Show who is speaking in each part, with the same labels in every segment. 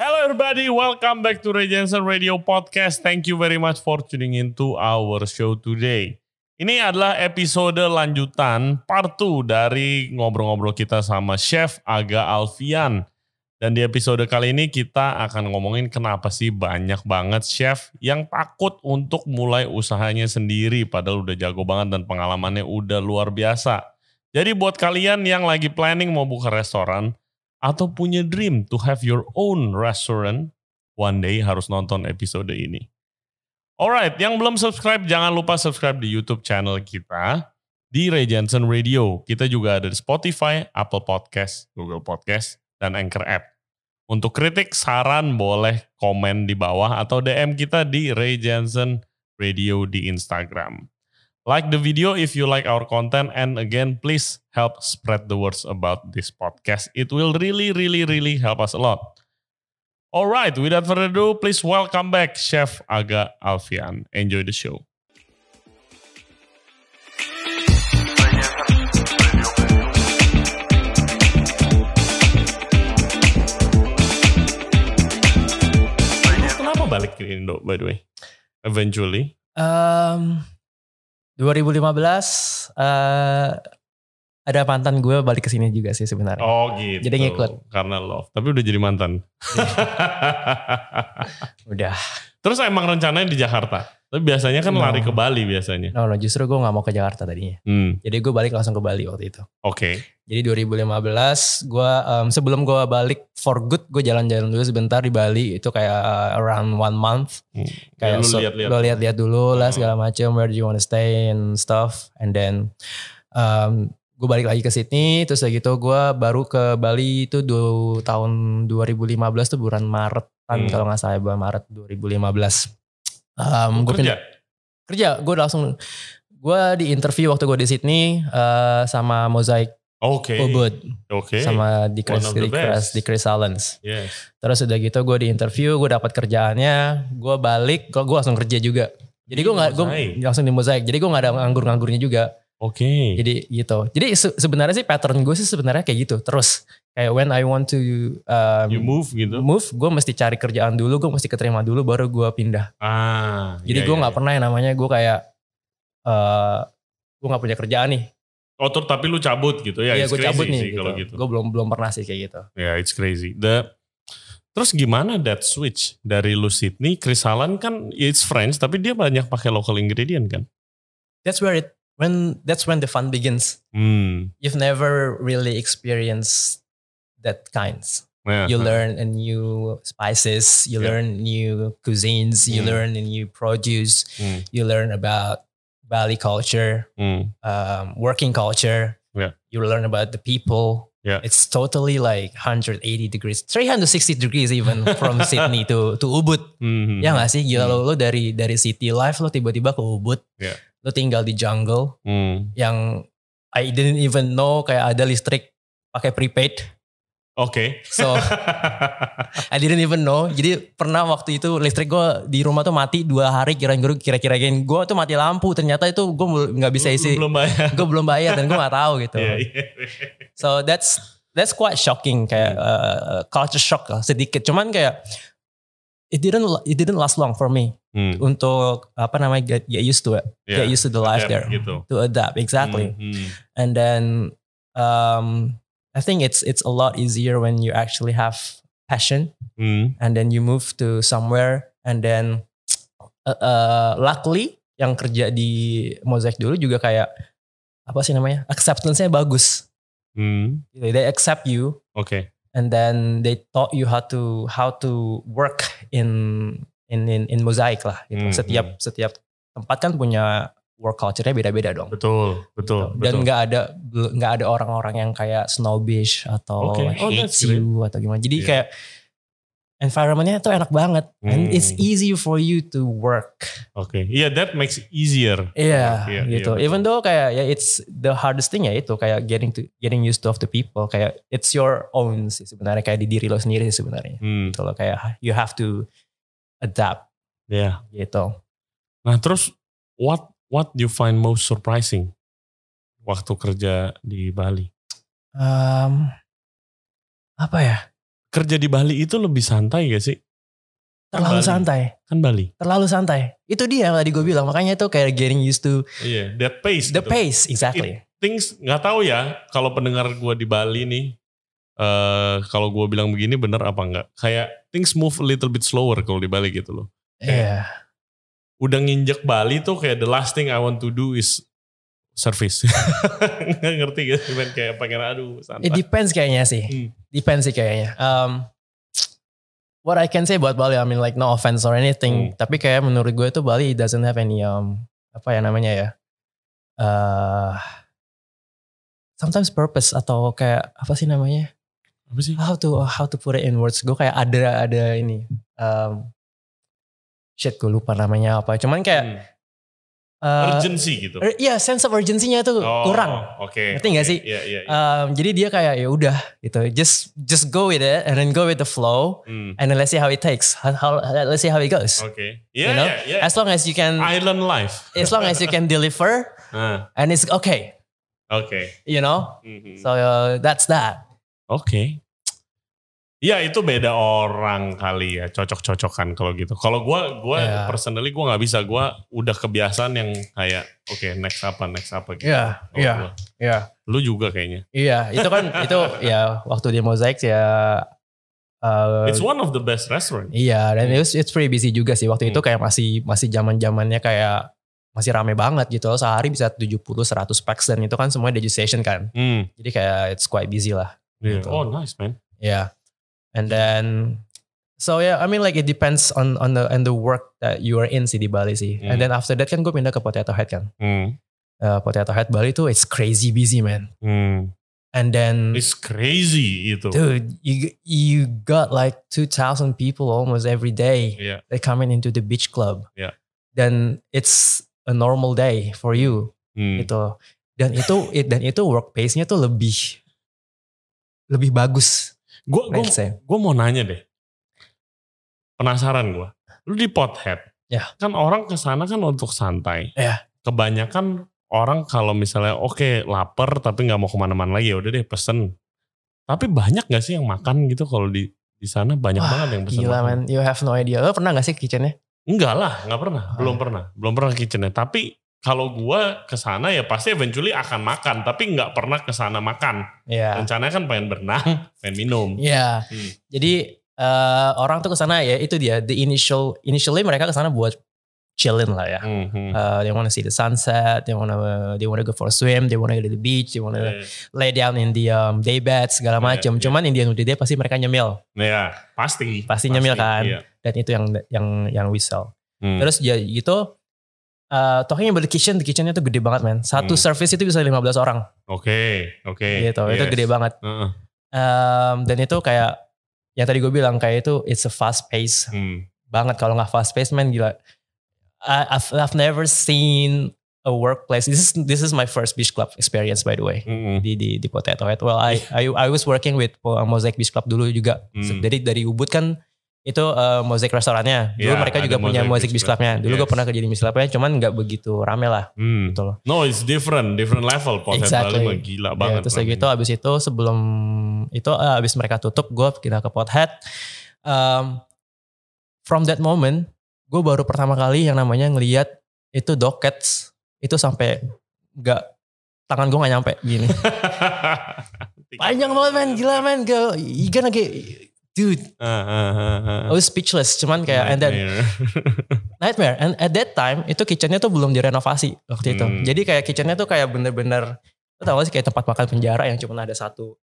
Speaker 1: Hello everybody, welcome back to Ray Jensen Radio Podcast. Thank you very much for tuning into our show today. Ini adalah episode lanjutan part 2 dari ngobrol-ngobrol kita sama Chef Aga Alfian. Dan di episode kali ini kita akan ngomongin kenapa sih banyak banget chef yang takut untuk mulai usahanya sendiri padahal udah jago banget dan pengalamannya udah luar biasa. Jadi buat kalian yang lagi planning mau buka restoran atau punya dream to have your own restaurant, one day harus nonton episode ini. Alright, yang belum subscribe jangan lupa subscribe di YouTube channel kita di Ray Jensen Radio. Kita juga ada di Spotify, Apple Podcast, Google Podcast, dan Anchor App. Untuk kritik, saran boleh komen di bawah atau DM kita di Ray Jensen Radio di Instagram. Like the video if you like our content, and again, please help spread the words about this podcast. It will really help us a lot. Alright, without further ado, please welcome back Chef Aga Alfian. Enjoy the show. Kenapa balik ke Indo, by the way? Eventually?
Speaker 2: 2015 ada mantan gue balik ke sini juga sih sebenarnya.
Speaker 1: Oh gitu.
Speaker 2: Jadi ngikut.
Speaker 1: Karena love. Tapi udah jadi mantan.
Speaker 2: Udah.
Speaker 1: Terus emang rencananya di Jakarta? Tapi biasanya kan lari ke Bali biasanya.
Speaker 2: No, justru gue gak mau ke Jakarta tadinya. Jadi gue balik langsung ke Bali waktu itu.
Speaker 1: Oke.
Speaker 2: Jadi 2015 gue sebelum gue balik for good, gue jalan-jalan dulu sebentar di Bali. Itu kayak around 1 month. Kayak lo lihat-lihat dulu lah segala macam, where do you want to stay and stuff. And then gue balik lagi ke Sydney. Terus gitu gue baru ke Bali itu tahun 2015 tuh bulan Maret. Kalau gak salah bulan Maret 2015. Kerja, gue langsung di interview waktu gue di Sydney sama Mosaic Ubud, sama di Chris Allens.
Speaker 1: Yes.
Speaker 2: Terus udah gitu gue di interview, gue dapat kerjaannya, gue balik, gue langsung kerja juga. Jadi gue langsung di Mosaic, jadi gue nggak ada nganggur-nganggurnya juga.
Speaker 1: Oke.
Speaker 2: Jadi gitu. Jadi sebenarnya sih pattern gue sih sebenarnya kayak gitu. Terus kayak when I want to
Speaker 1: you move gitu.
Speaker 2: Gue mesti cari kerjaan dulu, gue mesti keterima dulu baru gue pindah. Jadi gue nggak pernah yang namanya gue kayak gue nggak punya kerjaan nih.
Speaker 1: Oh tapi lu cabut gitu ya?
Speaker 2: Iya gue cabut nih.
Speaker 1: Gitu. Kalau gitu.
Speaker 2: Gue belum pernah sih kayak gitu.
Speaker 1: Ya it's crazy. Terus gimana that switch dari lu Sydney, Chris Allen kan it's French tapi dia banyak pakai local ingredient kan?
Speaker 2: That's when the fun begins. You've never really experienced that kinds. You learn a new spices, you learn new cuisines, you learn a new produce, you learn about Bali culture, working culture, you learn about the people. It's totally like 180 degrees, 360 degrees even from Sydney to Ubud. Ya gak sih? Gila lo dari city life lo tiba-tiba ke Ubud. Lo tinggal di jungle yang I didn't even know kayak ada listrik pakai prepaid.
Speaker 1: Oke.
Speaker 2: So I didn't even know. Jadi pernah waktu itu listrik gue di rumah tuh mati 2 hari kira-kira gue tuh mati lampu. Ternyata itu gue nggak bisa isi. Gue belum bayar dan gue nggak tahu gitu. So that's quite shocking kayak culture shock lah sedikit. Cuman kayak it didn't last long for me untuk get used to it, get used to the life there,
Speaker 1: gitu.
Speaker 2: To adapt exactly. And then I think it's a lot easier when you actually have passion, and then you move to somewhere, and then luckily yang kerja di Mosaic dulu juga kayak acceptance-nya bagus. They accept you.
Speaker 1: Okay.
Speaker 2: And then they taught you how to work in Mosaic lah gitu. Setiap tempat kan punya work culture-nya beda-beda dong.
Speaker 1: Betul.
Speaker 2: Dan nggak ada orang-orang yang kayak snobbish atau hates you atau gimana. Jadi kayak environment-nya tuh enak banget. And it's easy for you to work.
Speaker 1: Yeah, that makes it easier.
Speaker 2: Gitu. Even though kayak it's the hardest thing ya itu kayak getting used to of the people. Kayak it's your own sih sebenarnya, kayak di diri lo sendiri sih sebenarnya. Gitu loh, kayak you have to adapt. Gitu.
Speaker 1: Nah terus what do you find most surprising waktu kerja di Bali?
Speaker 2: Apa ya?
Speaker 1: kerja di Bali itu lebih santai gak sih?
Speaker 2: Terlalu santai.
Speaker 1: Kan Bali.
Speaker 2: Terlalu santai. Itu dia yang tadi gue bilang. Makanya itu kayak getting used to.
Speaker 1: Iya, that pace.
Speaker 2: The pace, exactly.
Speaker 1: Things, gak tahu ya kalau pendengar gue di Bali nih. Kalau gue bilang begini bener apa enggak. Kayak things move a little bit slower kalau di Bali gitu loh.
Speaker 2: Iya.
Speaker 1: Udah nginjek Bali tuh kayak the last thing I want to do is service. Nggak ngerti gak sih men, kayak pengen aduh santai.
Speaker 2: It depends kayaknya sih. Depends sih kayaknya. What I can say about Bali, I mean like no offense or anything, tapi kayak menurut gue tuh Bali doesn't have any apa ya namanya ya, sometimes purpose atau kayak apa sih namanya?
Speaker 1: Apa sih?
Speaker 2: How to put it in words? Gue kayak ada ini, gue lupa namanya apa. Cuman kayak
Speaker 1: urgency gitu.
Speaker 2: Iya, sense of urgency-nya tuh kurang.
Speaker 1: Oke.
Speaker 2: Ngerti gak sih?
Speaker 1: Iya.
Speaker 2: Jadi dia kayak ya udah gitu. Just go with it and then go with the flow and then let's see how it takes. Let's see how it goes.
Speaker 1: Okay.
Speaker 2: Yeah, you know? As long as you can
Speaker 1: island life.
Speaker 2: As long as you can deliver and it's okay.
Speaker 1: Okay.
Speaker 2: You know? Mm-hmm. So that's that.
Speaker 1: Okay. Ya itu beda orang kali ya, cocok-cocokan kalau gitu. Kalau gue personally gue nggak bisa, gue udah kebiasaan yang kayak next apa gitu. Iya. Lu juga kayaknya. Iya,
Speaker 2: itu kan itu ya waktu di Mosaic ya.
Speaker 1: It's one of the best restaurant.
Speaker 2: Iya, dan it's pretty busy juga sih waktu itu, kayak masih zaman-zamannya kayak masih rame banget gitu loh. Sehari bisa 70-100 packs dan itu kan semua degustation kan. Jadi kayak it's quite busy lah.
Speaker 1: Yeah.
Speaker 2: Gitu.
Speaker 1: Oh nice man.
Speaker 2: Yeah. And then, so yeah, I mean like it depends on the work that you are in sih di Bali sih. And then after that kan gue pindah ke Potato Head kan. Potato Head Bali tuh it's crazy busy man. And then
Speaker 1: it's crazy itu.
Speaker 2: Dude, you got like 2,000 people almost every day.
Speaker 1: Yeah.
Speaker 2: They coming into the beach club.
Speaker 1: Yeah.
Speaker 2: Then it's a normal day for you. Gitu. Dan itu work pace-nya tuh lebih bagus.
Speaker 1: Gue mau nanya deh. Penasaran gue. Lu di Pothead.
Speaker 2: Ya.
Speaker 1: Kan orang kesana kan untuk santai.
Speaker 2: Ya.
Speaker 1: Kebanyakan orang kalau misalnya lapar tapi gak mau kemana-mana lagi, ya udah deh pesen. Tapi banyak gak sih yang makan gitu kalau di sana? Banyak banget yang pesen.
Speaker 2: Gila man, you have no idea. Lo pernah gak sih kitchennya?
Speaker 1: Enggak lah, gak pernah. Belum pernah kitchennya. Tapi kalau gue kesana ya pasti eventually akan makan, tapi nggak pernah kesana makan.
Speaker 2: Yeah.
Speaker 1: Rencananya kan pengen berenang, pengen minum.
Speaker 2: Iya. Yeah. Jadi orang tuh kesana ya itu dia. Initially mereka kesana buat chillin lah ya. They want to see the sunset, they want to go for a swim, they want to go to the beach, they want to lay down in the day bed segala macam. Cuman in the end of the day pasti mereka nyemil.
Speaker 1: Iya, pasti
Speaker 2: nyemil kan. Yeah. Dan itu yang we sell. Terus ya gitu. Talking about the kitchennya tuh gede banget man. Satu service itu bisa 15 orang.
Speaker 1: Oke.
Speaker 2: Gitu, itu gede banget. Dan itu kayak yang tadi gue bilang kayak itu it's a fast pace banget. Kalau nggak fast pace man gila. I've never seen a workplace. This is my first beach club experience by the way di Potato Head. Well I was working with Mosaic Beach Club dulu juga. Jadi dari Ubud kan itu Mosaic restorannya. Dulu mereka juga punya Mosaic Beach Clubnya. Dulu gue pernah kerja di Beach Clubnya, cuman nggak begitu rame lah. Gitu loh.
Speaker 1: No, it's different level. Pothead Bali mah gila banget.
Speaker 2: Terus gitu abis itu sebelum itu abis mereka tutup, gue pindah ke Pothead. From that moment, gue baru pertama kali yang namanya ngelihat itu dockets itu sampai tangan gue nggak nyampe gini. Panjang banget man, gila man. You gonna get dude, I was speechless. Cuman kayak nightmare. And at that time itu kitchennya tuh belum direnovasi waktu itu. Jadi kayak kitchennya tuh kayak bener-bener, lo tau gak sih kayak tempat makan penjara yang cuma ada satu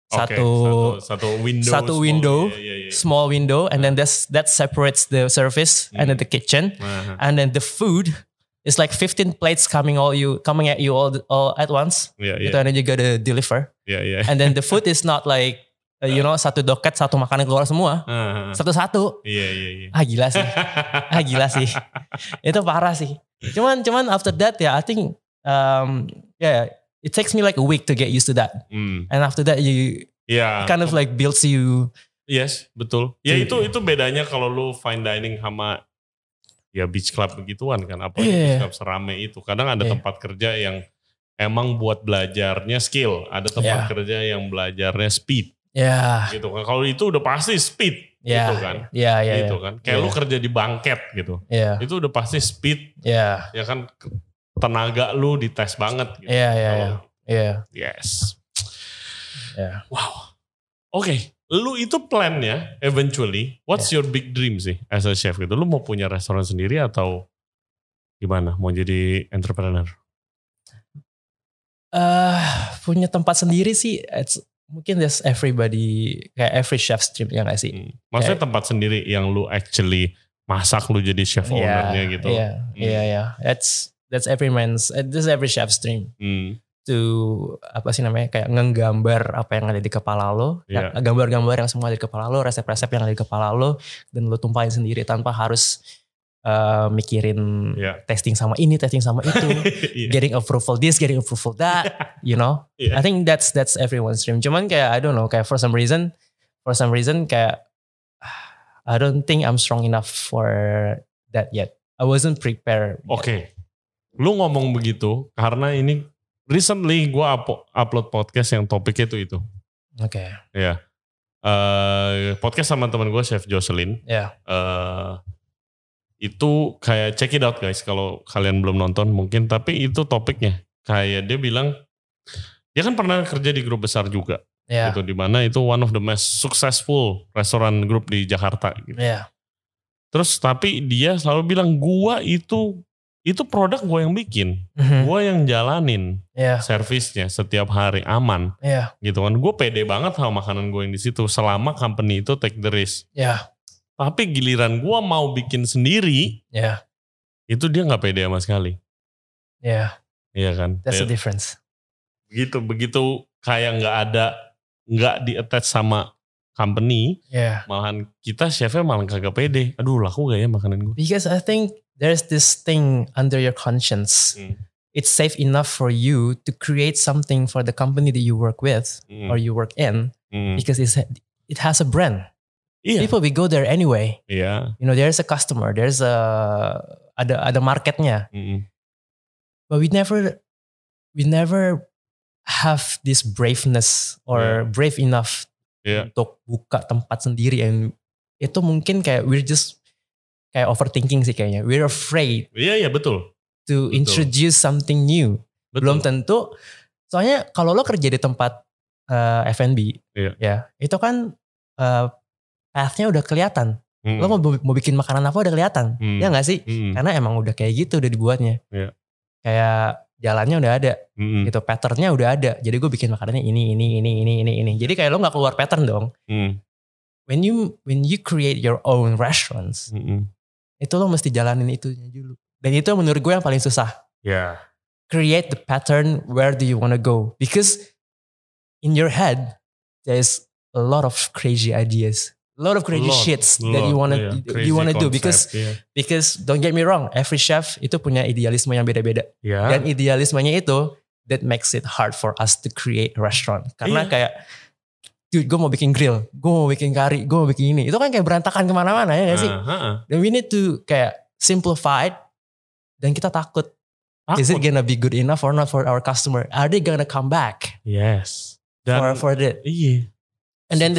Speaker 2: window, small window, and then that separates the service and then the kitchen, and then the food is like 15 plates coming at you all at once. Itu and then you gotta deliver. And then the food is not like satu doket, satu makanan keluar semua. Satu-satu.
Speaker 1: Iya.
Speaker 2: Gila sih. Itu parah sih. Cuman after that ya, I think it takes me like a week to get used to that. And after that you kind of like builds you.
Speaker 1: Yes, betul. Ya itu bedanya kalau lu fine dining sama ya beach club begituan kan. Apalagi beach club serame itu. Kadang ada tempat kerja yang emang buat belajarnya skill. Ada tempat kerja yang belajarnya speed. Gitu kan. Kalau itu udah pasti speed gitu kan. Gitu kan. Kayak lu kerja di bangket gitu. Itu udah pasti speed. Ya kan, tenaga lu dites banget gitu. Yes. Wow. Oke. Lu itu plan-nya eventually, what's your big dream sih as a chef gitu? Lu mau punya restoran sendiri atau gimana? Mau jadi entrepreneur?
Speaker 2: Punya tempat sendiri sih, mungkin there's everybody, kayak every chef's dream, ya gak sih?
Speaker 1: Maksudnya tempat sendiri yang lu actually masak, lu jadi chef ownernya gitu?
Speaker 2: Iya. That's every chef's dream. To kayak ngegambar apa yang ada di kepala lo, gambar-gambar yang semua ada di kepala lo, resep-resep yang ada di kepala lo, dan lo tumpahin sendiri tanpa harus mikirin testing sama ini, testing sama itu, getting approval this, getting approval that, you know. I think that's everyone's dream. Cuman kayak I don't know, kayak for some reason kayak I don't think I'm strong enough for that yet. I wasn't prepared.
Speaker 1: Oke. Lu ngomong begitu karena ini recently gue upload podcast yang topiknya itu.
Speaker 2: Oke.
Speaker 1: Ya. Podcast sama teman gue, Chef Jocelyn. Itu kayak check it out guys, kalau kalian belum nonton mungkin. Tapi itu topiknya. Kayak dia bilang, dia kan pernah kerja di grup besar juga. Gitu, dimana itu one of the most successful restoran group di Jakarta. Gitu. Terus tapi dia selalu bilang, gue itu produk gue yang bikin, gue yang jalanin servisnya setiap hari aman, gitu kan. Gue pede banget sama makanan gue yang di situ selama company itu take the risk. Tapi giliran gue mau bikin sendiri, itu dia nggak pede sama sekali. Iya kan.
Speaker 2: That's the difference.
Speaker 1: Begitu kayak nggak di-attach sama company, malahan kita chefnya malah kagak pede. Aduh, laku gak ya makanan gue?
Speaker 2: Because I think there's this thing under your conscience. It's safe enough for you to create something for the company that you work with or you work in because it has a brand. People will go there anyway. You know, there's a customer, there's ada marketnya. But we never have this braveness or brave enough untuk buka tempat sendiri, and itu mungkin kayak we're just kayak overthinking sih kayaknya. We're afraid.
Speaker 1: Betul.
Speaker 2: To introduce something new. Belum tentu. Soalnya kalau lo kerja di tempat F&B, itu kan path-nya udah kelihatan. Lo mau bikin makanan apa udah kelihatan. Ya nggak sih? Karena emang udah kayak gitu udah dibuatnya. Kayak jalannya udah ada, gitu. Patternnya udah ada. Jadi gue bikin makanannya ini. Jadi kayak lo nggak keluar pattern dong. When you create your own restaurants, itu lo mesti jalanin itu dulu. Dan itu menurut gue yang paling susah. Create the pattern, where do you want to go? Because in your head, there's a lot of crazy ideas. A lot of crazy shits that you wanna do. Because don't get me wrong, every chef itu punya idealisme yang beda-beda. Dan idealismenya itu, that makes it hard for us to create a restaurant. Karena kayak, dude, gue mau bikin grill, gue mau bikin kari, gue mau bikin ini. Itu kan kayak berantakan kemana-mana ya gak sih? Dan we need to kayak simplify it. Dan kita takut. Is it gonna be good enough or not for our customer? Are they gonna come back?
Speaker 1: Yes.
Speaker 2: For that. And then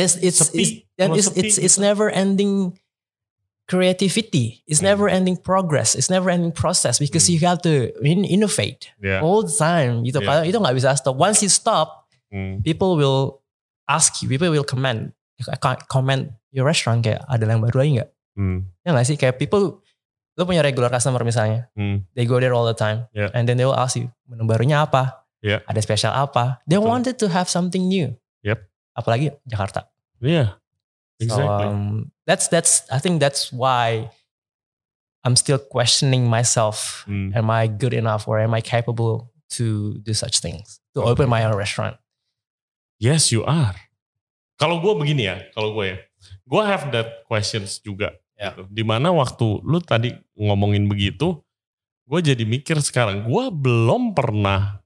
Speaker 2: it's never ending creativity. It's never ending progress. It's never ending process because you have to innovate all the time. Gitu. Itu gak bisa stop. Once you stop, people will ask you, people will comment your restaurant, kayak ada yang baru lagi gak? Ya gak sih? Kayak people, lo punya regular customer misalnya, they go there all the time, and then they will ask you, menu barunya apa? Ada spesial apa? They wanted to have something new. Apalagi Jakarta.
Speaker 1: Exactly.
Speaker 2: So I think that's why I'm still questioning myself. Am I good enough or am I capable to do such things? To open my own restaurant?
Speaker 1: Yes, you are. Kalau gue begini ya, gue have that questions juga. Gitu. Dimana waktu lu tadi ngomongin begitu, gue jadi mikir sekarang, gue belum pernah,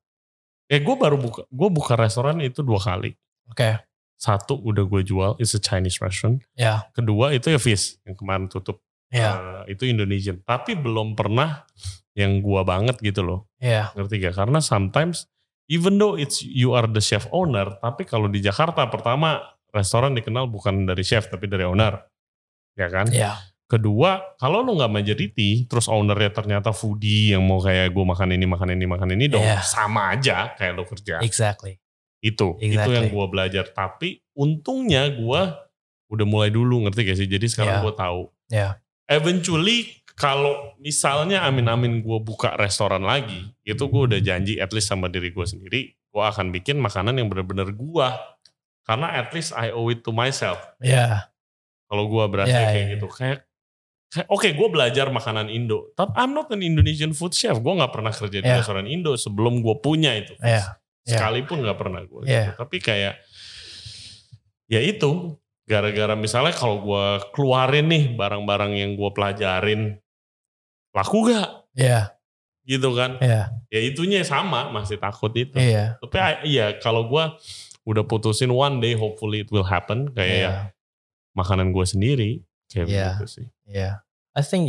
Speaker 1: gue buka restoran itu 2 kali. Satu udah gue jual, it's a Chinese restaurant. Kedua itu ya Fish yang kemarin tutup. Itu Indonesian. Tapi belum pernah yang gue banget gitu loh. Ngerti gak? Karena sometimes even though you are the chef owner, tapi kalau di Jakarta pertama restoran dikenal bukan dari chef tapi dari owner. Ya kan?
Speaker 2: Yeah.
Speaker 1: Kedua, kalau lu gak majority, terus ownernya ternyata foodie yang mau kayak gue makan ini dong. Sama aja kayak lu kerja.
Speaker 2: Exactly.
Speaker 1: Itu yang gue belajar. Tapi untungnya gue udah mulai dulu, ngerti gak sih? Jadi sekarang gue tahu.
Speaker 2: Yeah.
Speaker 1: Eventually kalau misalnya amin-amin gue buka restoran lagi, itu gue udah janji at least sama diri gue sendiri, gue akan bikin makanan yang benar-benar gue. Karena at least I owe it to myself.
Speaker 2: Yeah.
Speaker 1: Kalau gue berasa kayak gitu. Kayak oke, gue belajar makanan Indo. Tapi I'm not an Indonesian food chef. Gue gak pernah kerja di restoran Indo sebelum gue punya itu. Sekalipun gak pernah gue. Gitu. Tapi kayak, ya itu. Gara-gara misalnya kalau gue keluarin nih barang-barang yang gue pelajarin. Laku gak? Gitu kan. Ya itunya sama, masih takut itu. Tapi kalau gue udah putusin one day, hopefully it will happen. Kayak makanan gue sendiri. Kayak begitu sih.
Speaker 2: I think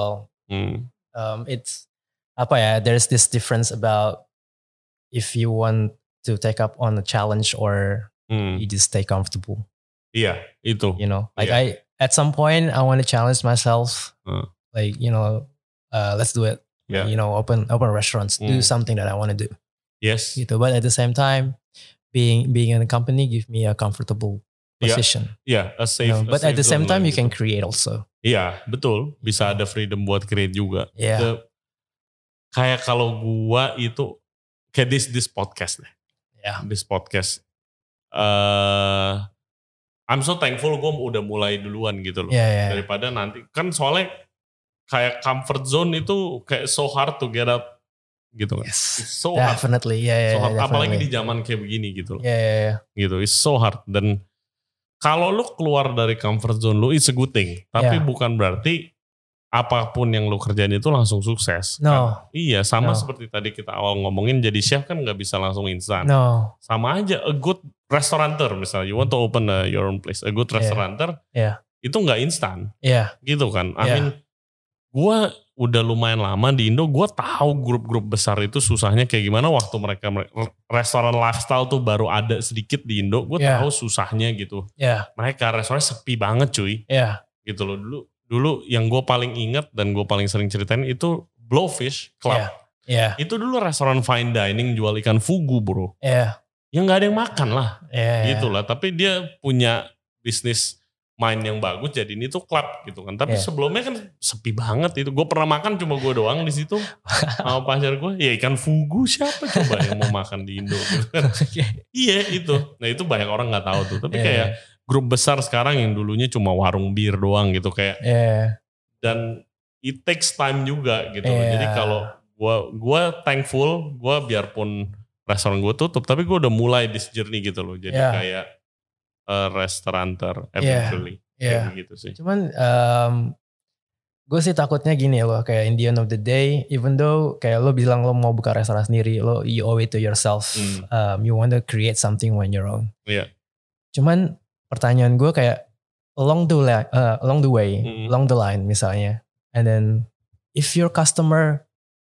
Speaker 2: it's there's this difference about if you want to take up on a challenge or you just stay comfortable.
Speaker 1: Iya, itu.
Speaker 2: You know, like I at some point I want to challenge myself. Like, you know, let's do it.
Speaker 1: Yeah.
Speaker 2: You know, open restaurants, do something that I want to do.
Speaker 1: Yes.
Speaker 2: Gitu. But at the same time, being in a company give me a comfortable position.
Speaker 1: A safe.
Speaker 2: You know, but at the same time, you can create also.
Speaker 1: Iya, betul. Bisa ada freedom buat create juga. Kayak kalau gua itu kayak this podcast deh. This podcast. I'm so thankful gue udah mulai duluan gitu loh. Daripada nanti kan soalnya kayak comfort zone itu kayak so hard to get out gitu kan.
Speaker 2: It's
Speaker 1: so
Speaker 2: definitely.
Speaker 1: hard. So hard. Apalagi di zaman kayak begini gitu loh. Gitu, it's so hard. Dan kalau lu keluar dari comfort zone lu, it's a good thing. Tapi bukan berarti apapun yang lu kerjain itu langsung sukses.
Speaker 2: No.
Speaker 1: Kan? Sama seperti tadi kita awal ngomongin, jadi chef kan gak bisa langsung instan.
Speaker 2: No.
Speaker 1: Sama aja, a good restaurateur misalnya, you want to open your own place, a good restaurateur, itu gak instan. Gitu kan. I mean, gue udah lumayan lama di Indo, gue tahu grup-grup besar itu susahnya kayak gimana waktu mereka restoran lifestyle tuh baru ada sedikit di Indo, gue tahu susahnya gitu. Mereka restorannya sepi banget cuy. Gitu loh, dulu yang gue paling ingat dan gue paling sering ceritain itu Blowfish Club. Itu dulu restoran fine dining jual ikan fugu bro. Yang gak ada yang makan lah. Gitu lah. Tapi dia punya bisnis mind yang bagus jadi ini tuh club gitu kan. Tapi sebelumnya kan sepi banget itu. Gue pernah makan cuma gue doang di situ sama pacar gue. Ya ikan fugu siapa coba yang mau makan di Indo gitu kan. Iya itu. Nah itu banyak orang gak tahu tuh. Tapi kayak grup besar sekarang yang dulunya cuma warung bir doang gitu kayak. Dan it takes time juga gitu. Jadi kalau gue thankful, gue biarpun restoran gue tutup, tapi gue udah mulai this journey gitu loh. Jadi kayak restaurateur eventually. Kayak gitu sih.
Speaker 2: Cuman gue sih takutnya gini loh, kayak in the end of the day, even though kayak lo bilang lo mau buka restoran sendiri, you owe it to yourself. You want to create something on your own. Cuman pertanyaan gue kayak along the way, along the line misalnya, and then if your customer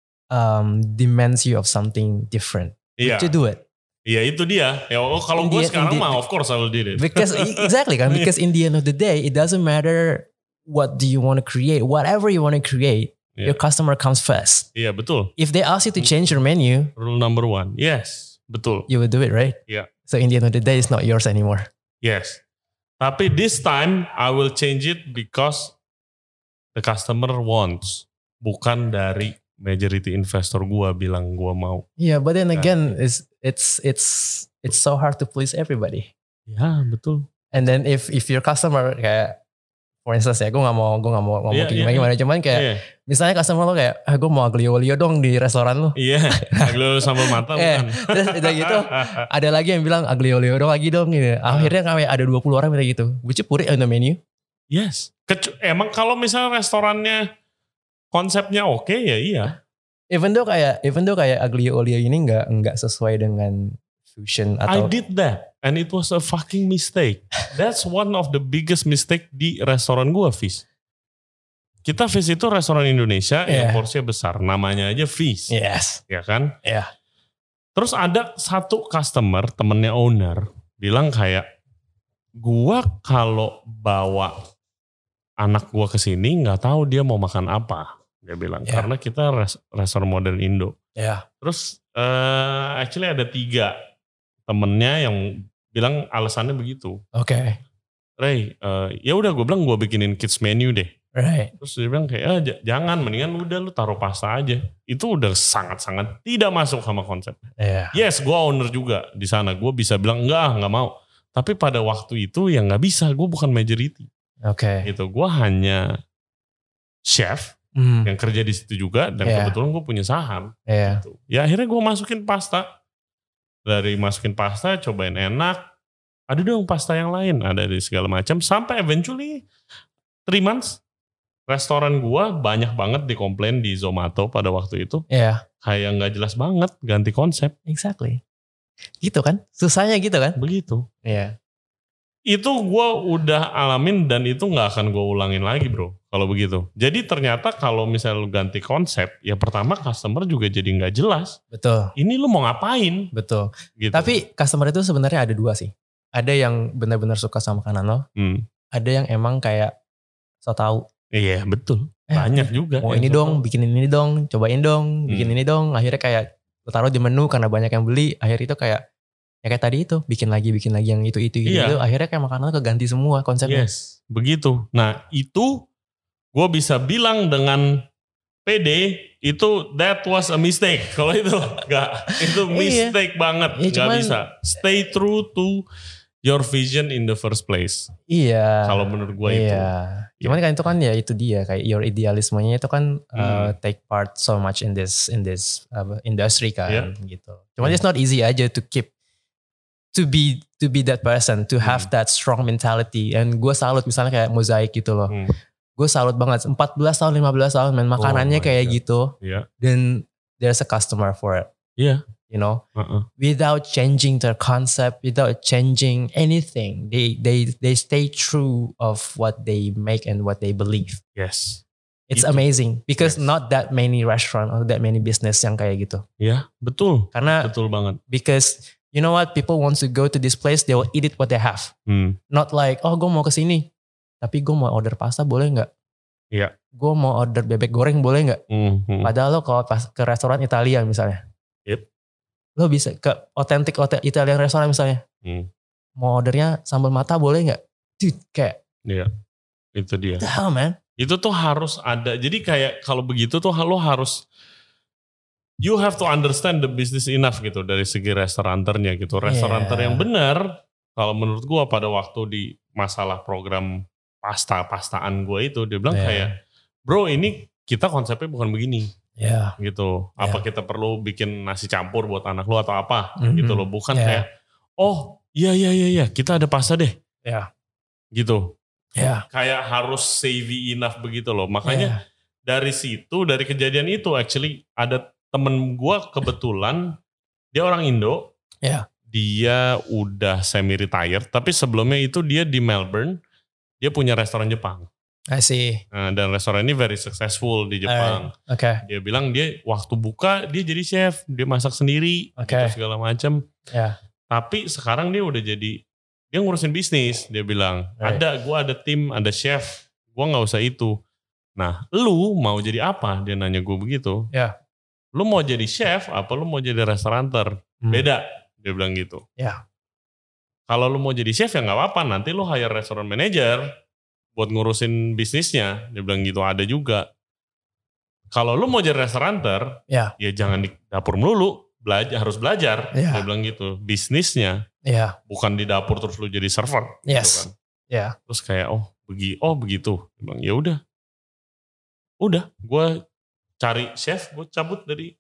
Speaker 2: demands you of something different, would you do it?
Speaker 1: Iya itu dia. Ya kalau gue sekarang mah of course I will do it.
Speaker 2: Because exactly kan, because in the end of the day it doesn't matter what do you want to create, whatever you want to create, your customer comes first.
Speaker 1: Iya betul.
Speaker 2: If they ask you to change your menu,
Speaker 1: rule number 1, yes betul.
Speaker 2: You will do it right?
Speaker 1: Yeah.
Speaker 2: So in the end of the day it's not yours anymore.
Speaker 1: Yes. Tapi this time I will change it because the customer wants, bukan dari majority investor gua bilang gua mau.
Speaker 2: Yeah, but then again it's so hard to please everybody.
Speaker 1: Ya betul.
Speaker 2: And then if your customer kayak for instance ya, gue gak mau ngomong gimana, cuman kayak misalnya customer lo kayak, gue mau aglio olio dong di restoran lo.
Speaker 1: Aglio olio sambal mata bukan.
Speaker 2: Terus udah gitu, ada lagi yang bilang aglio olio dong lagi dong gitu. Akhirnya kayak ada 20 orang minta gitu. Would you put it on the menu?
Speaker 1: Yes. Emang kalau misalnya restorannya konsepnya oke, ya iya.
Speaker 2: Even though kayak aglio olio ini nggak sesuai dengan fusion atau.
Speaker 1: I did that and it was a fucking mistake. That's one of the biggest mistake di restoran gua, Fish. Kita Fish itu restoran Indonesia yang porsinya besar, namanya aja Fish.
Speaker 2: Yes.
Speaker 1: Ya kan?
Speaker 2: Yeah.
Speaker 1: Terus ada satu customer, temennya owner, bilang kayak, Gue kalau bawa anak gue ke sini nggak tahu dia mau makan apa, dia bilang. Karena kita restoran modern Indo. Terus actually ada 3 temennya yang bilang alasannya begitu. Ray, ya udah gue bilang gue bikinin kids menu deh. Terus dia bilang kayak jangan, mendingan udah lu taruh pasta aja. Itu udah sangat-sangat tidak masuk sama konsep. Yes, gue owner juga di sana. Gue bisa bilang nggak mau. Tapi pada waktu itu ya nggak bisa. Gue bukan majority. Gitu. Gue hanya chef yang kerja di situ juga dan kebetulan gue punya saham. Gitu. Ya akhirnya gue masukin pasta. Dari masukin pasta, cobain enak. Ada dong pasta yang lain, ada di segala macam. Sampai eventually 3 months restoran gue banyak banget dikomplain di Zomato pada waktu itu. Kayak nggak jelas banget, ganti konsep.
Speaker 2: Exactly. Gitu kan, susahnya gitu kan.
Speaker 1: Begitu. Itu gue udah alamin dan itu nggak akan gue ulangin lagi bro. Kalau begitu. Jadi ternyata kalau misalnya lu ganti konsep, ya pertama customer juga jadi nggak jelas.
Speaker 2: Betul.
Speaker 1: Ini lu mau ngapain?
Speaker 2: Betul. Gitu. Tapi customer itu sebenarnya ada 2 sih. Ada yang benar-benar suka sama makanan lo. Ada yang emang kayak so tahu.
Speaker 1: Iya betul. Banyak juga.
Speaker 2: Mau ini dong, bikin ini dong, cobain dong, bikin ini dong. Akhirnya kayak taruh di menu karena banyak yang beli. Akhirnya itu kayak ya kayak tadi itu bikin lagi yang itu. Akhirnya kayak makanan keganti semua konsepnya.
Speaker 1: Yes, begitu. Nah itu gue bisa bilang dengan pede itu that was a mistake. Kalau itu itu mistake banget. Gak bisa. Stay true to your vision in the first place. Kalau menurut gue itu.
Speaker 2: Cuman kan itu kan ya itu dia kayak your idealismenya itu kan take part so much in this industry kan gitu. Cuman it's not easy aja to keep to be that person, to have that strong mentality. And gue salut misalnya kayak Mosaic gitu loh. Gue salut banget 14 tahun 15 tahun main makanannya kayak gitu. Dan there's a customer for it. You know, without changing their concept, without changing anything, they stay true of what they make and what they believe.
Speaker 1: Yes,
Speaker 2: it's amazing because not that many restaurant or that many business yang kayak gitu.
Speaker 1: Betul.
Speaker 2: Karena
Speaker 1: betul banget.
Speaker 2: Because you know what, people want to go to this place, they will eat it what they have. Not like gue mau kesini, tapi gue mau order pasta boleh nggak? Gue mau order bebek goreng boleh nggak? Padahal lo kalau ke restoran Italia misalnya. Lo bisa ke otentik Italian restoran misalnya. Mau ordernya sambal mata boleh gak? Dude kayak.
Speaker 1: Itu dia.
Speaker 2: The hell man.
Speaker 1: Itu tuh harus ada. Jadi kayak kalau begitu tuh lo harus. You have to understand the business enough gitu. Dari segi restoranternya gitu. Restoranter yang benar. Kalau menurut gue pada waktu di masalah program pastaan gue itu. Dia bilang kayak. Bro ini kita konsepnya bukan begini. Gitu. Apa kita perlu bikin nasi campur buat anak lo atau apa gitu loh. Bukan kayak iya kita ada pasta deh. Gitu. Kayak harus savvy enough begitu loh. Makanya dari situ, dari kejadian itu actually ada temen gue kebetulan dia orang Indo. Dia udah semi retired tapi sebelumnya itu dia di Melbourne dia punya restoran Jepang.
Speaker 2: I see.
Speaker 1: Dan restoran ini very successful di Jepang. Dia bilang dia waktu buka dia jadi chef, dia masak sendiri, gitu, segala macam. Tapi sekarang dia udah jadi dia ngurusin bisnis. Dia bilang gue ada tim, ada chef, gue nggak usah itu. Nah, lu mau jadi apa? Dia nanya gue begitu. Lu mau jadi chef apa lu mau jadi restoranter? Beda. Dia bilang gitu. Kalau lu mau jadi chef ya nggak apa-apa. Nanti lu hire restaurant manager buat ngurusin bisnisnya. Dia bilang gitu, ada juga. Kalau lu mau jadi restoranter, ya jangan di dapur melulu, harus belajar. Dia bilang gitu, bisnisnya. Bukan di dapur terus lu jadi server. Gitu kan. Terus kayak begitu. Dia bilang ya udah, gue cari chef, gue cabut dari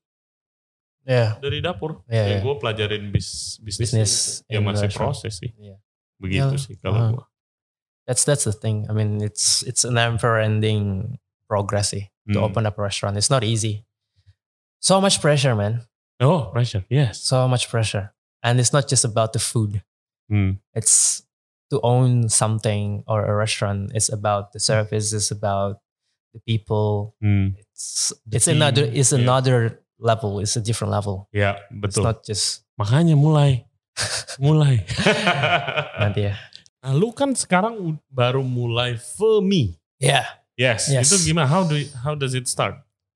Speaker 1: dapur. Gue pelajarin bisnis. Ya masih proses sih. Begitu sih kalau gue.
Speaker 2: That's the thing. I mean, it's a never-ending progress to open up a restaurant. It's not easy. So much pressure, man.
Speaker 1: Oh, pressure, yes.
Speaker 2: So much pressure. And it's not just about the food. It's to own something or a restaurant. It's about the service. It's about the people. It's another level. It's a different level.
Speaker 1: Ya, betul.
Speaker 2: It's not just.
Speaker 1: Makanya mulai.
Speaker 2: Nanti ya.
Speaker 1: Nah, lu kan sekarang baru mulai Fermi.
Speaker 2: Yeah.
Speaker 1: Yes. Itu gimana? How does it start?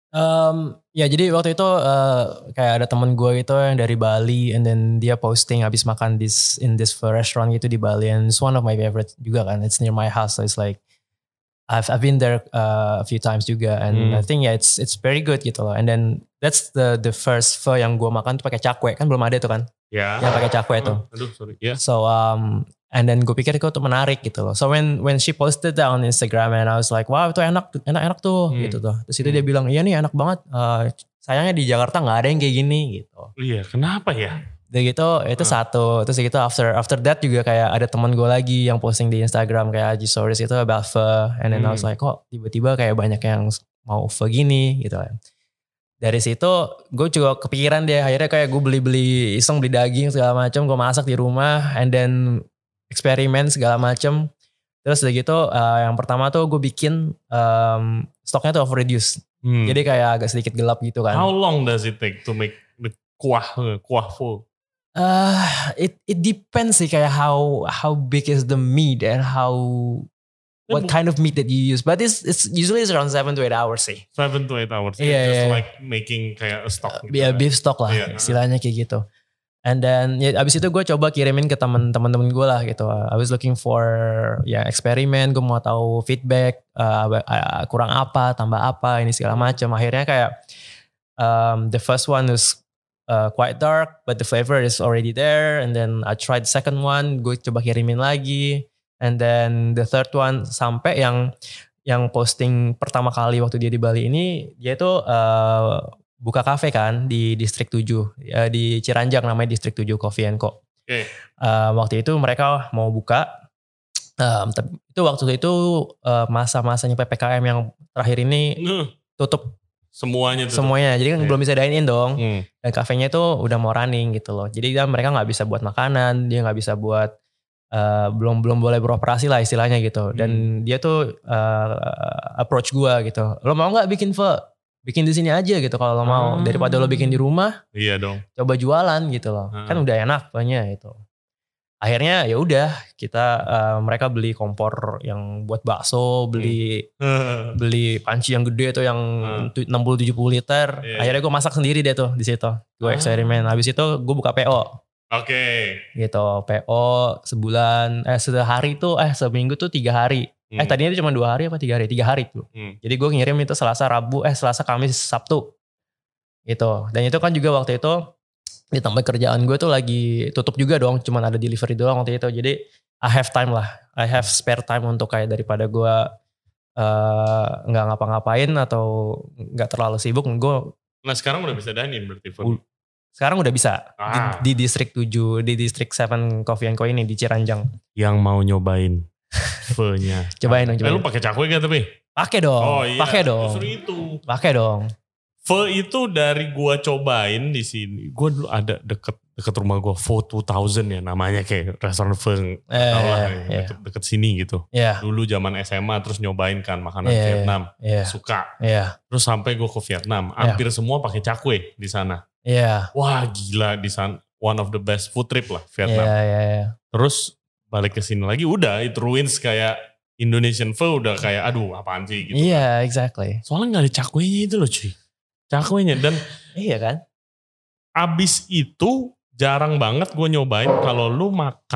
Speaker 2: Ya jadi waktu itu kayak ada temen gue gitu yang dari Bali, and then dia posting habis makan in this restaurant gitu di Bali, and it's one of my favorite juga kan. It's near my house, so it's like I've been there a few times juga, and I think it's very good gitu loh. And then that's the first pho yang gue makan tuh pakai cakwe, kan belum ada tuh kan?
Speaker 1: Ya.
Speaker 2: Yang pakai cakwe tuh.
Speaker 1: Aduh, sorry. Yeah.
Speaker 2: So and then gue pikir itu menarik gitu loh. So when she posted that on Instagram, and I was like, wow itu enak tuh gitu tuh. Terus itu dia bilang, iya nih enak banget. Sayangnya di Jakarta nggak ada yang kayak gini gitu.
Speaker 1: Iya, kenapa ya?
Speaker 2: Udah gitu itu satu. Terus gitu after that juga kayak ada teman gue lagi yang posting di Instagram kayak IG stories itu about pho, and then I was like, kok tiba-tiba kayak banyak yang mau pho gini gitu kan. Dari situ gue juga kepikiran deh, akhirnya kayak gue beli iseng beli daging segala macam, gue masak di rumah, and then eksperimen segala macam. Terus udah gitu yang pertama tuh gue bikin stoknya tuh overreduce. Jadi kayak agak sedikit gelap gitu kan.
Speaker 1: How long does it take to make the kuah pho?
Speaker 2: It depends sih kayak how big is the meat and what kind of meat that you use. But it's usually around 7 to 8 hours sih.
Speaker 1: 7 to 8 hours.
Speaker 2: Yeah,
Speaker 1: just like making kayak a stock gitu.
Speaker 2: Yeah, beef stock lah istilahnya kayak gitu. And then ya abis itu gue coba kirimin ke teman-teman gue lah gitu. I was looking for eksperimen, gue mau tahu feedback, kurang apa, tambah apa, ini segala macam. Akhirnya kayak the first one was quite dark, but the flavor is already there. And then I tried the second one, gue coba kirimin lagi. And then the third one sampai yang posting pertama kali waktu dia di Bali ini, dia itu buka kafe kan di Distrik 7 di Ciranjang, namanya Distrik 7 Coffee & Co.
Speaker 1: Okay.
Speaker 2: Waktu itu mereka mau buka, tapi itu waktu itu masa-masanya PPKM yang terakhir ini tutup
Speaker 1: semuanya.
Speaker 2: Jadi kan belum bisa dine in dong. Dan kafenya itu udah mau running gitu loh. Jadi mereka nggak bisa buat makanan, dia nggak bisa buat belum boleh beroperasi lah istilahnya gitu. Dan dia tuh approach gue gitu, lo mau nggak bikin pho? Bikin di sini aja gitu kalau lo mau, daripada lo bikin di rumah.
Speaker 1: Iya dong. Coba
Speaker 2: jualan gitu loh. Kan udah enak banyak itu. Akhirnya ya udah kita mereka beli kompor yang buat bakso, beli panci yang gede tuh yang 60-70 liter. Akhirnya gue masak sendiri deh tuh di situ. Gue eksperimen. Habis itu gue buka PO.
Speaker 1: Oke.
Speaker 2: Gitu, PO sebulan, sehari tuh, seminggu tuh 3 hari. Tadinya itu cuma 2 hari apa 3 hari? 3 hari tuh. Jadi gue ngirim itu Selasa, Kamis, Sabtu. Gitu. Dan itu kan juga waktu itu ditambah kerjaan gue tuh lagi tutup juga dong. Cuman ada delivery doang waktu itu. Jadi I have time lah. I have spare time untuk kayak daripada gue gak ngapa-ngapain atau gak terlalu sibuk.
Speaker 1: Nah sekarang udah bisa dine-in berarti?
Speaker 2: Sekarang udah bisa. Di Distrik 7, di Distrik 7 Coffee & Co ini di Ciranjang.
Speaker 1: Yang mau nyobain pho-nya.
Speaker 2: Cobain dong.
Speaker 1: Lu pakai cakwe gak tapi?
Speaker 2: Pakai dong.
Speaker 1: Oh iya.
Speaker 2: Pakai dong.
Speaker 1: Justru itu.
Speaker 2: Pakai dong.
Speaker 1: Pho itu dari gua cobain di sini. Gua dulu ada deket rumah gua, Pho 2000 ya namanya, kayak restoran pho. Deket sini gitu. Dulu zaman SMA terus nyobain kan makanan Vietnam. Suka. Terus sampai gua ke Vietnam. Hampir semua pakai cakwe di sana. Wah gila di sana. One of the best food trip lah Vietnam. Terus balik ke sini lagi udah it ruins kayak Indonesian pho, udah kayak aduh apaan sih gitu.
Speaker 2: Iya, exactly.
Speaker 1: Soalnya gak ada cakwenya itu loh cuy. Cakwenya dan
Speaker 2: iya kan.
Speaker 1: Abis itu jarang banget gue nyobain kalau lu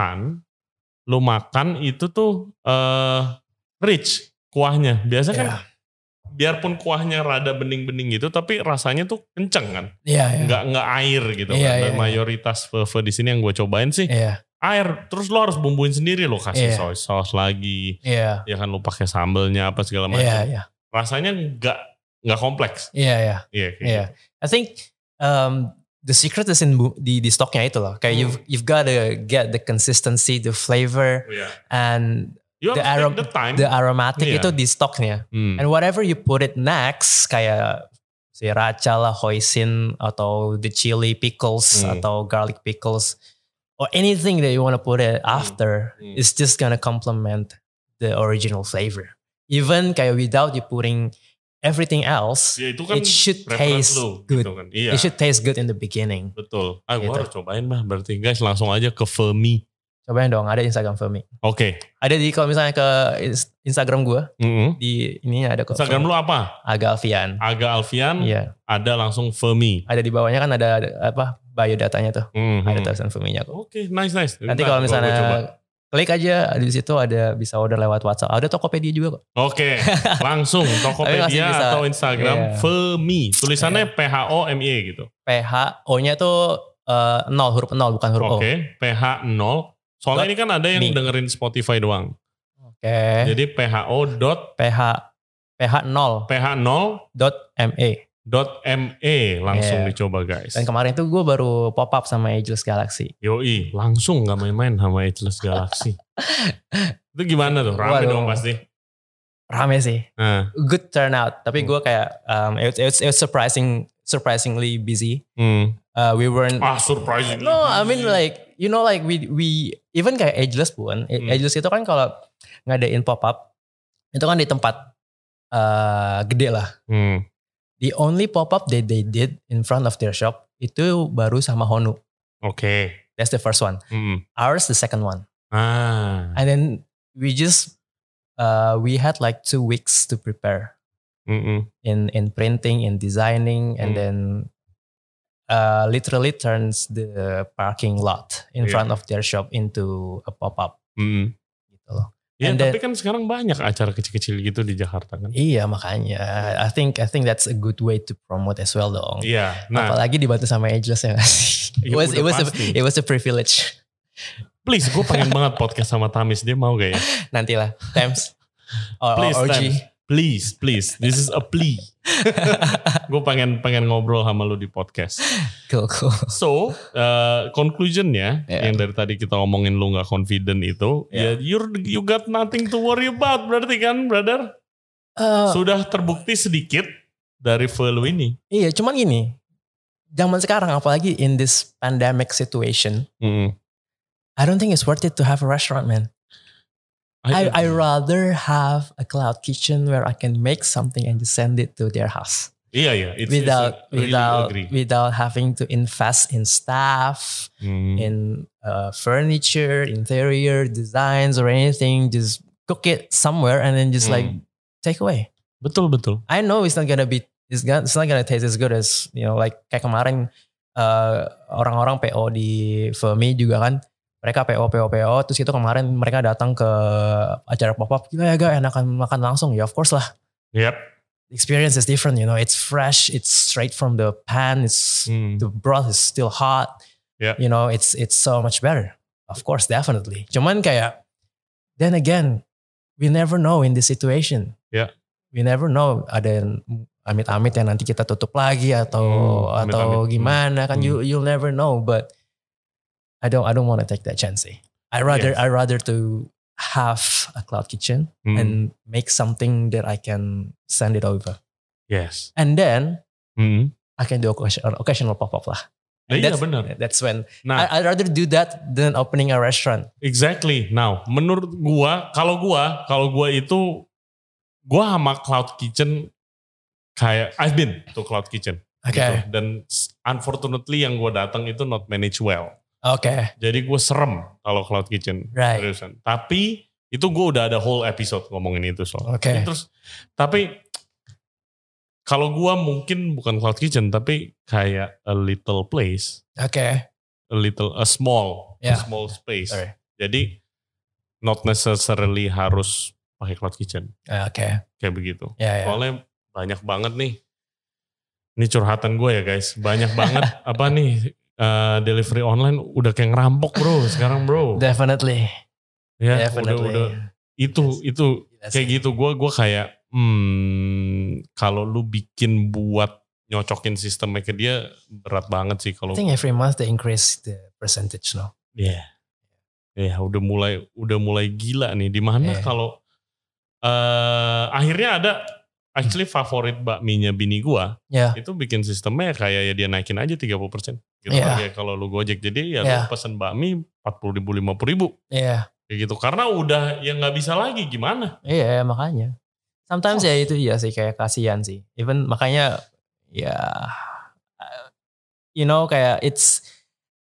Speaker 1: makan itu tuh rich kuahnya. Biasa kan biarpun kuahnya rada bening-bening gitu, tapi rasanya tuh kenceng kan. Nggak air gitu kan. Dan mayoritas pho di sini yang gue cobain sih air. Terus lo harus bumbuin sendiri, lo kasih soy sauce lagi. Ya kan lo pakai sambelnya apa segala macam. Rasanya nggak kompleks.
Speaker 2: Iya. I think the secret is in di stoknya itu loh. Kayak you've got to get the consistency, the flavor, and the aromatic itu di stoknya. And whatever you put it next, kayak sriracha lah, hoisin, atau the chili pickles, atau garlic pickles, or anything that you want to put it after, it's just gonna complement the original flavor. Even kayak without you putting everything else,
Speaker 1: kan
Speaker 2: it should taste good.
Speaker 1: Gitu kan.
Speaker 2: It should taste good in the beginning.
Speaker 1: Betul. Gue harus cobain bah. Berarti guys langsung aja ke Fermi.
Speaker 2: Cobain dong, ada Instagram Fermi.
Speaker 1: Oke.
Speaker 2: Ada kalau misalnya ke Instagram gue, di ininya ada kok.
Speaker 1: Instagram lu apa?
Speaker 2: Aga Alfian.
Speaker 1: Aga Alfian.
Speaker 2: Iya.
Speaker 1: Ada langsung Fermi.
Speaker 2: Ada di bawahnya kan ada apa biodatanya tuh. Ada tulisan Ferminya kok.
Speaker 1: Oke, nice.
Speaker 2: Nanti kalau misalnya klik aja di situ ada bisa order lewat WhatsApp. Ada Tokopedia juga kok.
Speaker 1: Oke, langsung Tokopedia atau Instagram Fermi. Tulisannya PHOMIE gitu.
Speaker 2: PHO-nya tuh 0, huruf 0 bukan huruf O.
Speaker 1: Oke, PH 0. Soalnya ini kan ada yang dengerin Spotify doang.
Speaker 2: Oke.
Speaker 1: Jadi PH0 .me langsung dicoba guys.
Speaker 2: Dan kemarin tuh gue baru pop up sama Ageless Galaxy.
Speaker 1: Yoi, langsung gak main-main sama Ageless Galaxy. Itu gimana tuh? Rame dong pasti.
Speaker 2: Rame sih. Good turnout. Tapi gue kayak it's surprisingly busy. We weren't.
Speaker 1: Surprisingly.
Speaker 2: No, I mean like we even kayak Ageless pun. Ageless itu kan kalau ngadain pop up itu kan di tempat gede lah. The only pop up that they did in front of their shop itu baru sama Honu.
Speaker 1: Okay.
Speaker 2: That's the first one. Ours the second one. And then we just we had like 2 weeks to prepare in printing, in designing, and then literally turns the parking lot in front of their shop into a pop up. Gitu loh.
Speaker 1: Ya, tapi kan sekarang banyak acara kecil-kecil gitu di Jakarta kan.
Speaker 2: Iya, makanya I think that's a good way to promote as well dong.
Speaker 1: Iya.
Speaker 2: Nah, apalagi dibantu sama Ageless ya. It was a privilege.
Speaker 1: Please, gue pengen banget podcast sama Tamis. Dia mau gak ya?
Speaker 2: Nantilah, Tams.
Speaker 1: Please, Tams. Please. This is a plea. Gue pengen ngobrol sama lu di podcast.
Speaker 2: Cool.
Speaker 1: So, conclusionnya yang dari tadi kita ngomongin lu gak confident itu, ya you got nothing to worry about berarti kan, brother? Sudah terbukti sedikit dari lu ini.
Speaker 2: Iya, cuman gini, zaman sekarang apalagi in this pandemic situation, I don't think it's worth it to have a restaurant, man. I rather have a cloud kitchen where I can make something and just send it to their house.
Speaker 1: Yeah.
Speaker 2: Without having to invest in staff, in furniture, interior designs or anything. Just cook it somewhere and then just like take away.
Speaker 1: Betul.
Speaker 2: I know it's not gonna taste as good as like kayak kemarin orang-orang PO di Fermi juga kan. Mereka PO, terus itu kemarin mereka datang ke acara pop-up, gila ya gak enakan makan langsung, ya of course lah.
Speaker 1: Yep.
Speaker 2: The experience is different, it's fresh, it's straight from the pan, the broth is still hot, it's so much better. Of course, definitely. Cuman kayak, then again, we never know in this situation.
Speaker 1: Yeah.
Speaker 2: We never know, ada amit-amit yang nanti kita tutup lagi atau gimana kan, you'll never know, but I don't want to take that chance. I rather to have a cloud kitchen and make something that I can send it over.
Speaker 1: Yes.
Speaker 2: And then I can do occasional pop-up lah.
Speaker 1: Iya benar.
Speaker 2: That's when I'd rather do that than opening a restaurant.
Speaker 1: Exactly. Now, menurut kalau gua itu gua sama cloud kitchen kayak I've been to cloud kitchen.
Speaker 2: Okay.
Speaker 1: Gitu. Dan unfortunately yang gua datang itu not managed well.
Speaker 2: Oke.
Speaker 1: Jadi gue serem kalau cloud kitchen.
Speaker 2: Right.
Speaker 1: Seriusan. Tapi itu gue udah ada whole episode ngomongin itu soal.
Speaker 2: Oke.
Speaker 1: Terus tapi kalau gue mungkin bukan cloud kitchen tapi kayak a little place.
Speaker 2: Oke.
Speaker 1: A small space.
Speaker 2: Sorry.
Speaker 1: Jadi not necessarily harus pakai cloud kitchen.
Speaker 2: Oke.
Speaker 1: Kayak begitu.
Speaker 2: Yeah.
Speaker 1: Soalnya banyak banget nih. Ini curhatan gue ya guys. Banyak banget apa nih delivery online udah kayak ngerampok bro sekarang bro.
Speaker 2: Definitely.
Speaker 1: Ya, udah itu kayak gitu. Gue kayak kalau lu bikin buat nyocokin sistemnya ke dia berat banget sih kalau.
Speaker 2: I think every month they increase the percentage no.
Speaker 1: Iya. Yeah. Udah mulai gila nih. Di mana kalau akhirnya ada actually favorit bakminya bini gua, itu bikin sistemnya kayak ya dia naikin aja 30%. Gitu kayak kalau lu Gojek. Jadi ya lu pesen bakmi 40.000 50.000.
Speaker 2: Iya.
Speaker 1: Kayak gitu. Karena udah ya gak bisa lagi gimana.
Speaker 2: Iya makanya. Sometimes ya itu iya sih kayak kasihan sih. Even makanya ya kayak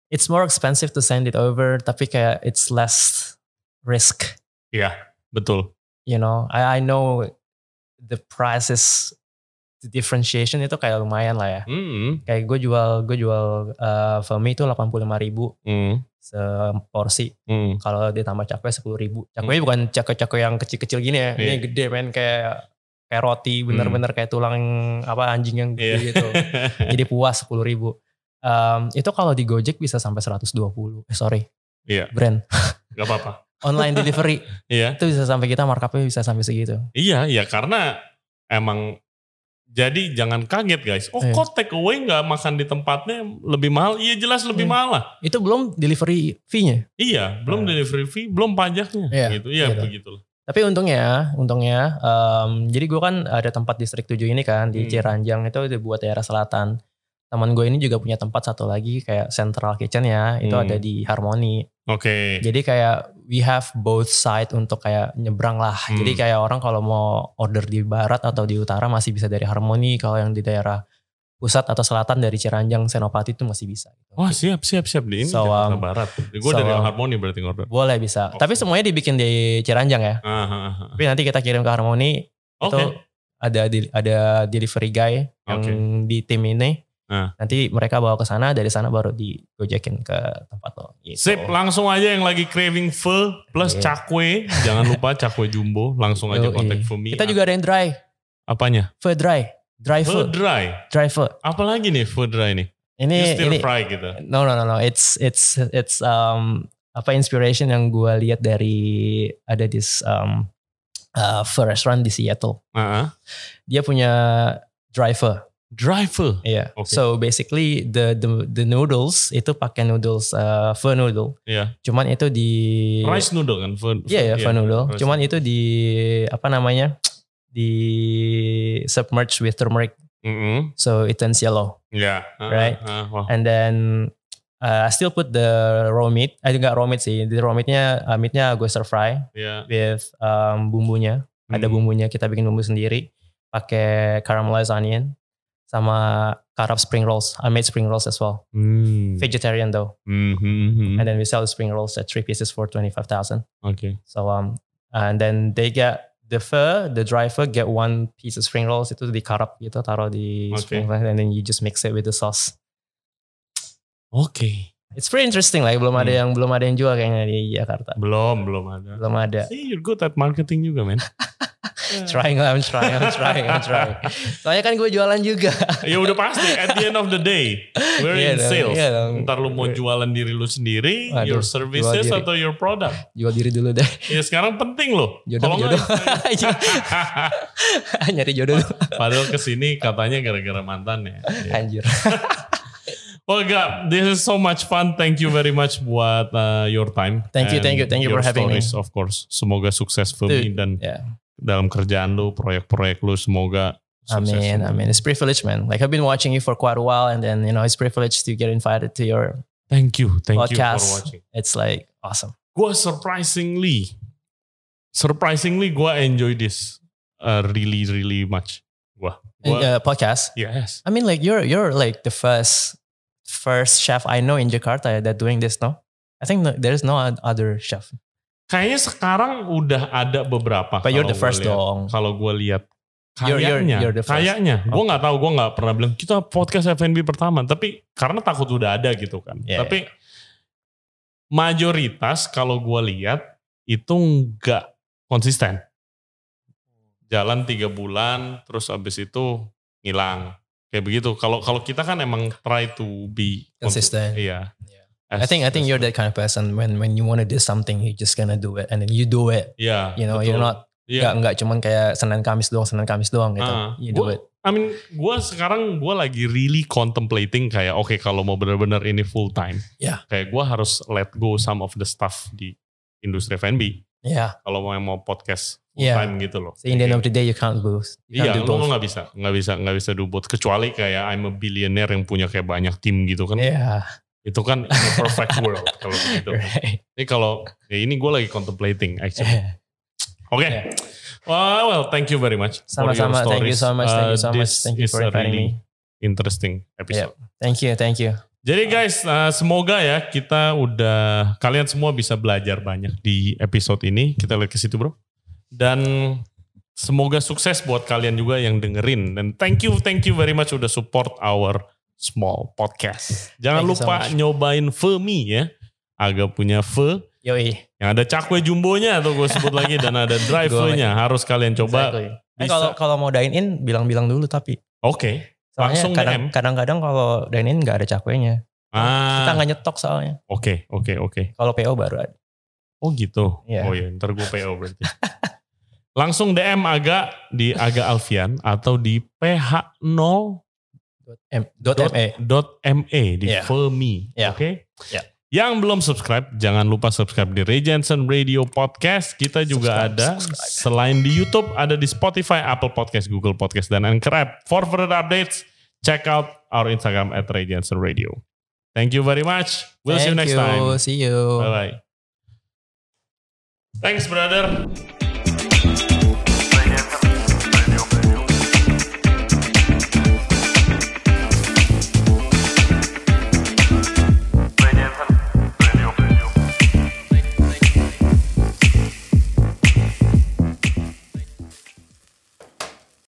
Speaker 2: it's more expensive to send it over, tapi kayak it's less risk.
Speaker 1: Iya, betul.
Speaker 2: You know, I know the prices, the differentiation itu kayak lumayan lah ya. Kayak gue jual Femi itu 85.000 seporsi. Kalau ditambah cakwe 10.000. Cakwe bukan cakwe yang kecil-kecil gini ya. Ini gede men, kayak roti bener-bener kayak tulang anjing yang gede gitu. Jadi puas 10.000. Itu kalau di Gojek bisa sampai 120.
Speaker 1: Iya.
Speaker 2: Brand.
Speaker 1: Gak apa-apa.
Speaker 2: Online delivery.
Speaker 1: Iya.
Speaker 2: Itu bisa sampai kita markupnya bisa sampai segitu.
Speaker 1: Iya karena emang jadi jangan kaget guys. Kok take away gak makan di tempatnya lebih mahal? Iya jelas lebih mahal lah. Itu
Speaker 2: belum delivery fee-nya.
Speaker 1: Iya, belum delivery fee, belum pajaknya. Gitu. Iya begitu.
Speaker 2: Tapi untungnya, jadi gue kan ada tempat distrik 7 ini kan di Ciranjang itu dibuat daerah selatan. Teman gue ini juga punya tempat satu lagi kayak central kitchen ya, itu ada di Harmony.
Speaker 1: Oke.
Speaker 2: Jadi kayak we have both side untuk kayak nyebrang lah. Jadi kayak orang kalau mau order di barat atau di utara masih bisa dari Harmony, kalau yang di daerah pusat atau selatan dari Ciranjang, Senopati itu masih bisa.
Speaker 1: Wah siap di ini Jakarta Barat. Gue dari Harmony berarti order.
Speaker 2: Boleh bisa. Tapi semuanya dibikin di Ciranjang ya. Tapi nanti kita kirim ke Harmony. Itu ada delivery guy yang di tim ini. Nanti mereka bawa ke sana, dari sana baru digojekin ke tempat lo. Gitu.
Speaker 1: Sip, langsung aja yang lagi craving pho plus cakwe, jangan lupa cakwe jumbo, langsung aja kontak Femi.
Speaker 2: Kita juga ada yang dry.
Speaker 1: Apanya?
Speaker 2: Pho dry. Dry pho. Dry pho.
Speaker 1: Apa lagi nih pho dry nih?
Speaker 2: Ini
Speaker 1: stir fry gitu.
Speaker 2: No. It's inspiration yang gue lihat dari ada this pho restaurant di Seattle. Dia punya dry pho.
Speaker 1: Dry pho.
Speaker 2: Iya. Okay. So basically the noodles itu pakai noodles pho noodle.
Speaker 1: Iya.
Speaker 2: Cuman itu di
Speaker 1: rice noodle kan pho.
Speaker 2: Iya, pho noodle. Cuman itu di di submerged with turmeric. So it turns yellow.
Speaker 1: Yeah.
Speaker 2: Right?
Speaker 1: Wow.
Speaker 2: And then I still put the raw meat. Enggak raw meat sih. The raw meatnya gue stir fry with bumbunya. Ada bumbunya, kita bikin bumbu sendiri. Pakai caramelized onion. Sama Karab spring rolls. I made spring rolls as well. Vegetarian though. And then we sell the spring rolls at 3 pieces for 25,000.
Speaker 1: Okay.
Speaker 2: So and then they get the pho, the dry pho, get 1 piece of spring rolls itu di Karab gitu, taruh di spring rolls, and then you just mix it with the sauce.
Speaker 1: Okay.
Speaker 2: It's pretty interesting lah. Belum ada yang jual kayaknya di Jakarta.
Speaker 1: Belum ada.
Speaker 2: See,
Speaker 1: you're good at marketing juga, man.
Speaker 2: I'm trying. Soalnya kan gue jualan juga.
Speaker 1: Ya udah pasti. At the end of the day, we're in sales. Ntar lu mau jualan diri lu sendiri, your services atau your product.
Speaker 2: Jual diri dulu deh.
Speaker 1: Ya sekarang penting loh.
Speaker 2: Jodoh. Nyari jodoh.
Speaker 1: Padahal kesini katanya gara-gara mantan ya.
Speaker 2: Anjir.
Speaker 1: Well, God, this is so much fun. Thank you very much buat your time.
Speaker 2: Thank you for having me.
Speaker 1: Of course, semoga sukses Femi dan dalam kerjaan lu, proyek-proyek lu, semoga sukses.
Speaker 2: Amin. It's privilege, man. Like I've been watching you for quite a while, and then it's privilege to get invited to your
Speaker 1: Thank you
Speaker 2: podcast.
Speaker 1: For watching.
Speaker 2: It's like awesome.
Speaker 1: Gue surprisingly, gue enjoy this really much. Gua
Speaker 2: podcast.
Speaker 1: Yes.
Speaker 2: I mean, like you're like the first chef I know in Jakarta that doing this, no? I think there's no other chef.
Speaker 1: Kayaknya sekarang udah ada beberapa.
Speaker 2: But you're the first dong.
Speaker 1: Kalau gue lihat
Speaker 2: kayaknya,
Speaker 1: kayaknya. Gue nggak tahu, gue nggak pernah bilang kita podcast F&B pertama. Tapi karena takut udah ada gitu kan. Yeah. Tapi mayoritas kalau gue lihat itu nggak konsisten. Jalan 3 bulan, terus abis itu ngilang. Kayak begitu. Kalau kita kan emang try to be
Speaker 2: consistent.
Speaker 1: Iya.
Speaker 2: I think you're that kind of person when you want to do something you just gonna do it and then you do it.
Speaker 1: Yeah.
Speaker 2: Betul. You're not nggak cuman kayak Senin Kamis doang gitu. You do it.
Speaker 1: I mean, gue lagi really contemplating kayak okay, kalau mau benar-benar ini full time.
Speaker 2: Yeah.
Speaker 1: Kayak gue harus let go some of the stuff di industri F&B.
Speaker 2: Yeah.
Speaker 1: Kalau mau podcast full time gitu loh.
Speaker 2: So in the end of the day you can't both.
Speaker 1: Iya, lo nggak bisa do both, kecuali kayak I'm a billionaire yang punya kayak banyak tim gitu kan.
Speaker 2: Iya. Yeah.
Speaker 1: Itu kan in a perfect world kalau begitu. Right. Ini kalau ini gue lagi contemplating actually. Oke. Okay. Well, thank you very much.
Speaker 2: Sama-sama. Thank you so much. Thank you for inviting me.
Speaker 1: Interesting episode.
Speaker 2: Yeah. Thank you.
Speaker 1: Jadi guys, semoga ya kalian semua bisa belajar banyak di episode ini. Kita lihat ke situ bro. Dan semoga sukses buat kalian juga yang dengerin. Dan thank you very much udah support our small podcast. Jangan lupa nyobain Femi ya. Aga punya Fe.
Speaker 2: Yoi.
Speaker 1: Yang ada cakwe jumbonya atau gue sebut lagi. Dan ada drive-nya. Harus kalian coba.
Speaker 2: Kalau mau dine in bilang-bilang dulu tapi.
Speaker 1: Oke.
Speaker 2: Langsung kadang-kadang kalau dine-in gak ada cakwenya. Kita gak nyetok soalnya.
Speaker 1: Oke.
Speaker 2: Kalau PO baru ada.
Speaker 1: Oh gitu.
Speaker 2: Yeah.
Speaker 1: Oh iya, ntar gue PO berarti. Langsung DM Aga di Aga Alfian atau di ph0.me di Femi.
Speaker 2: Yeah.
Speaker 1: Oke?
Speaker 2: Yeah.
Speaker 1: Yang belum subscribe, jangan lupa subscribe di Ray Jensen Radio Podcast. Kita juga ada selain di YouTube, ada di Spotify, Apple Podcast, Google Podcast, dan Anchor. For further updates, check out our Instagram at Ray Jensen Radio. Thank you very much. We'll see you next time.
Speaker 2: See you.
Speaker 1: Bye-bye. Thanks, brother.